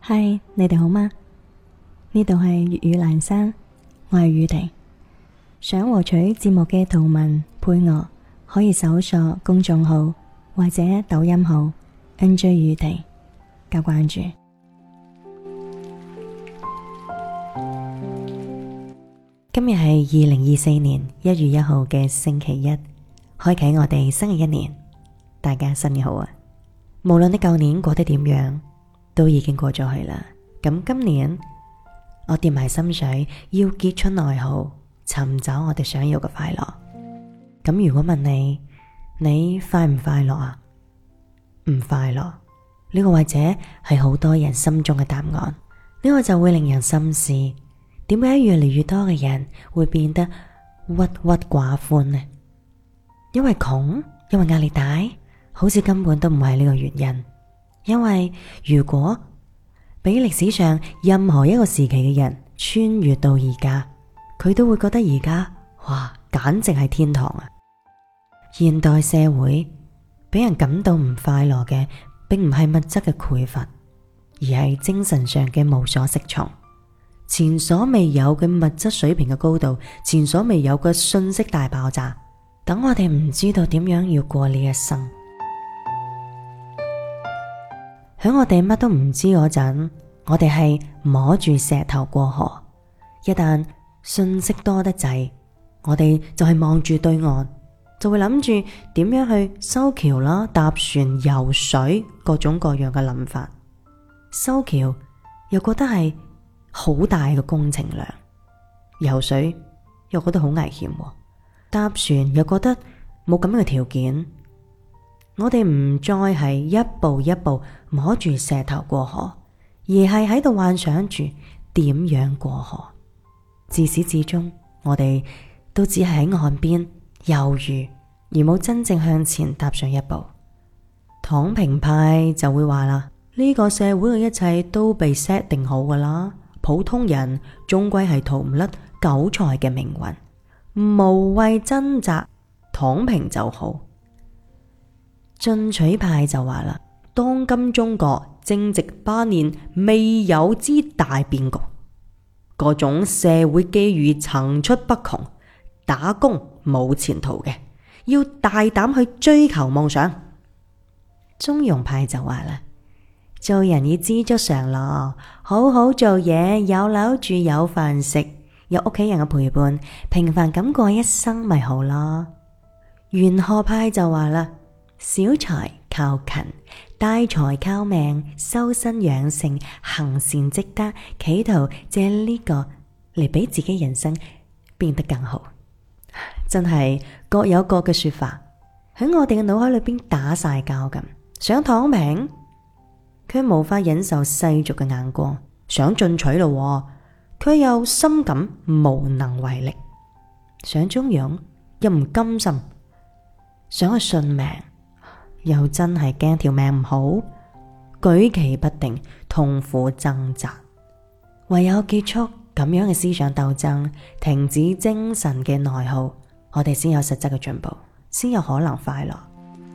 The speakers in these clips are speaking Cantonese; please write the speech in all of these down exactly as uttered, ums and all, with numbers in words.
嗨，你哋好嗎？呢度係粵語蘭山，我係宇婷。想獲取節目嘅圖文配樂，可以搜索公眾號或者抖音號 N J 宇婷加關注。今日係二零二四年一月一號嘅星期一，開啟我哋新嘅一年。大家新年好啊！無論你舊年過得點樣，都已經過咗去啦。咁今年我掂埋心水，要結出內耗，尋找我哋想要嘅快樂。咁如果問你，你快唔快樂啊？唔快樂，呢個或者係好多人心中嘅答案。呢個就會令人深思，點解越嚟越多嘅人會變得鬱鬱寡歡呢？因為窮？因為壓力大？好似根本都唔係呢個原因。因為如果俾歷史上任何一個時期嘅人穿越到而家，佢都會覺得而家哇，簡直係天堂啊！現代社會俾人感到唔快樂嘅，並唔係物質嘅匱乏，而係精神上嘅無所適從。前所未有嘅物質水平嘅高度，前所未有嘅信息大爆炸，等我哋唔知道點樣要過呢一生。喺我哋乜都唔知嗰陣，我哋係摸住石頭過河。一旦信息多得滯，我哋就係望住對岸，就會諗住點樣去修橋啦、搭船、游水，各種各樣嘅諗法。修橋又覺得係好大嘅工程量，游水又覺得好危險，搭船又覺得冇咁樣嘅條件。我哋唔再係一步一步摸住石頭過河，而係喺度幻想住點樣過河。自始至終，我哋都只係喺岸邊猶豫，而冇真正向前踏上一步。躺平派就會話啦，呢個社會嘅一切都被 set 定好噶啦，普通人終歸係逃唔甩韭菜嘅命運，無謂掙扎，躺平就好。進取派就話啦，當今中國正值八年未有之大變局，各種社會機遇層出不窮，打工冇前途嘅，要大膽去追求夢想。中庸派就話啦，做人要知足常樂，好好做嘢，有樓住，有飯食，有屋企人嘅陪伴，平凡咁過一生咪好咯。玄學派就話啦，小財靠勤，大財靠命，修身養性，行善積德，企圖借呢個嚟俾自己人生變得更好。真係各有各嘅說法，喺我哋嘅腦海裏邊打晒交咁。想躺平，卻無法忍受世俗嘅眼光；想進取咯，卻又深感無能為力；想中庸，又唔甘心；想去順命，又真係驚條命唔好，舉棋不定，痛苦掙扎。唯有結束咁樣嘅思想鬥爭，停止精神嘅內耗，我哋先有實質嘅進步，先有可能快樂。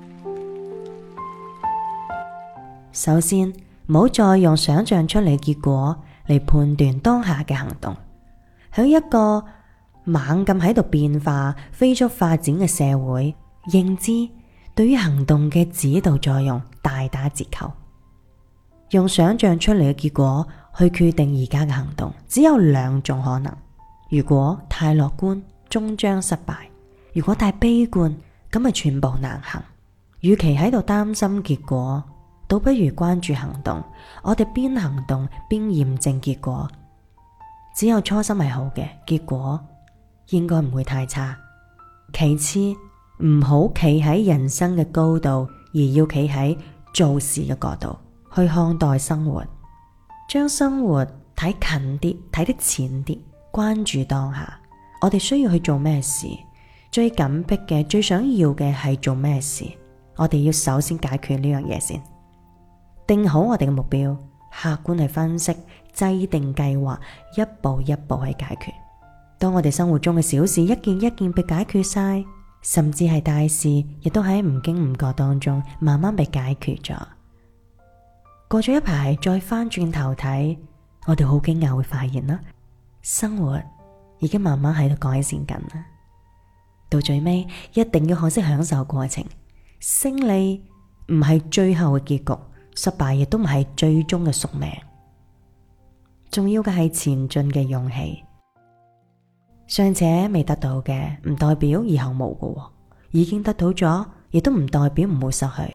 首先，唔好再用想象出嚟結果嚟判斷當下嘅行動。喺一個猛咁喺度變化、飛速發展嘅社會，認知對於行動嘅指導作用大打折扣。用想象出嚟嘅結果去決定而家嘅行動，只有兩種可能：如果太樂觀，終將失敗；如果太悲觀，咁咪全部難行。與其喺度擔心結果，倒不如關注行動。我哋邊行動邊驗證結果，只有初心係好嘅，結果應該唔會太差。其次，唔好企喺人生嘅高度，而要企喺做事嘅角度去看待生活，將生活睇近啲，睇得淺啲，關注當下。我哋需要去做咩事？最緊迫嘅、最想要嘅係做咩事？我哋要首先解決呢樣嘢先。定好我哋嘅目標，客觀去分析，制定計劃，一步一步去解決。當我哋生活中嘅小事一件一件被解決晒，甚至係大事，亦都喺唔經唔覺當中慢慢被解決咗。 過咗一排再翻轉頭睇，我哋好驚訝會發現啦，生活已經慢慢喺度改善緊啦。到最尾一定要學識享受過程，勝利唔係最後嘅結局，失敗亦都唔係最終嘅宿命。重要嘅係前進嘅勇氣。尚且未得到嘅唔代表以後冇嘅，已經得到咗亦都唔代表唔會失去。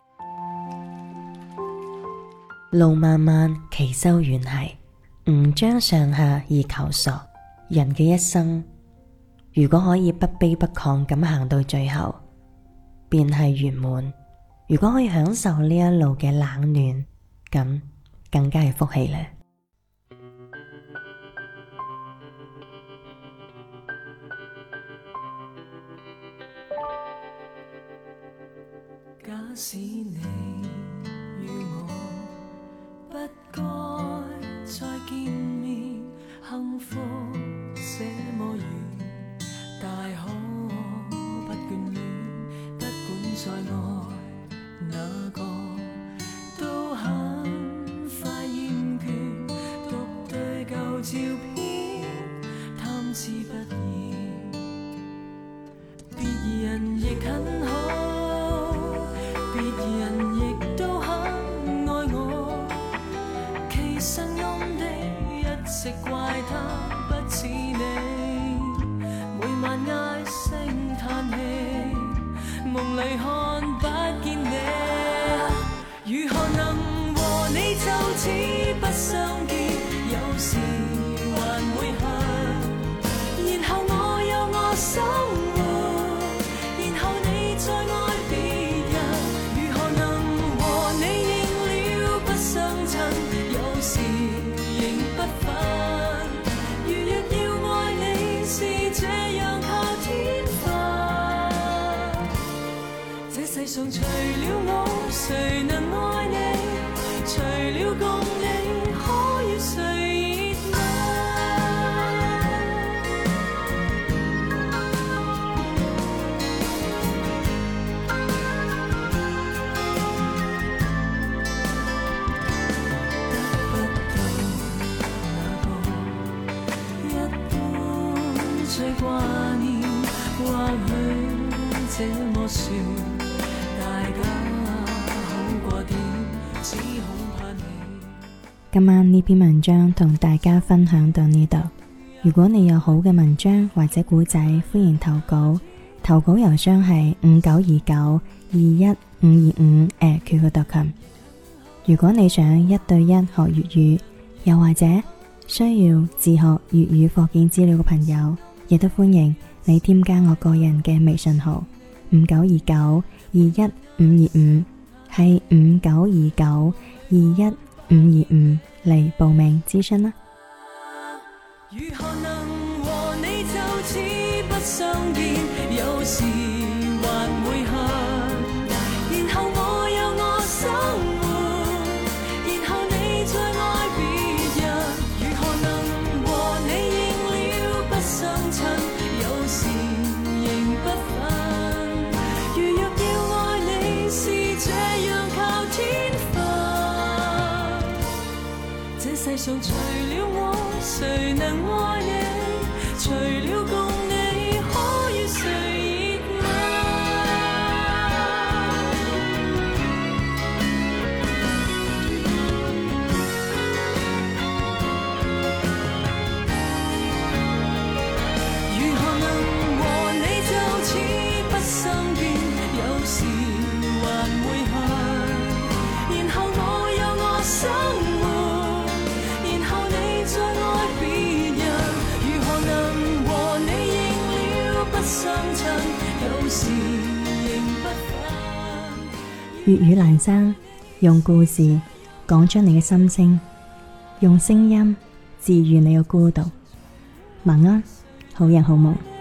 路漫漫其修遠兮，吾將上下而求索。人嘅一生，如果可以不卑不亢咁行到最後，便係圓滿。如果可以享受呢一路嘅冷暖，咁更加係福氣咧。 假使你與我不該再見面，幸福這麼遠，大可不眷戀，不管再愛哪個都很快厭倦，獨對舊照片貪之不厭，別人亦很好，別人亦都很愛我，其實暗地一直怪他不似你，每晚唉聲嘆氣，夢裡看不見你，如何能和你就此不相見？有時還會恨，然後我有我生活，然後你再愛別人。有時仍不忿，如若要愛你是這樣靠天分，這世上除了我誰能愛你？除了共你可與誰熱最掛念，或許這麼說，大家好過點，只恐怕你。 今晚呢篇文章同大家分享到呢度。如果你有好嘅文章或者古仔，歡迎投稿。投稿郵箱係五九二九二一五二五 at Q Q 點 com。如果你想一對一學粵語，又或者需要自學粵語課件資料嘅朋友，亦都歡迎你添加我個人嘅微信號五九二九二一五二五，係五九二九二一五二五嚟報名諮詢啦。 如何能和你就此不相見？有時還會恨，然後我有我生活，然後你再愛別人。如何能和你應了不相襯？有時仍不忿，如若要愛你是這樣靠天分，這世上除了我誰能愛你？除了共你可與誰熱愛？如何能和你就此不相見？有時還會恨，然後我有我生活，然後你再愛別人。如何能和你應了不相襯？有時仍不忿。 粵語闌珊，用故事講出你嘅心聲，用聲音治愈你嘅孤獨。晚安，好人好夢。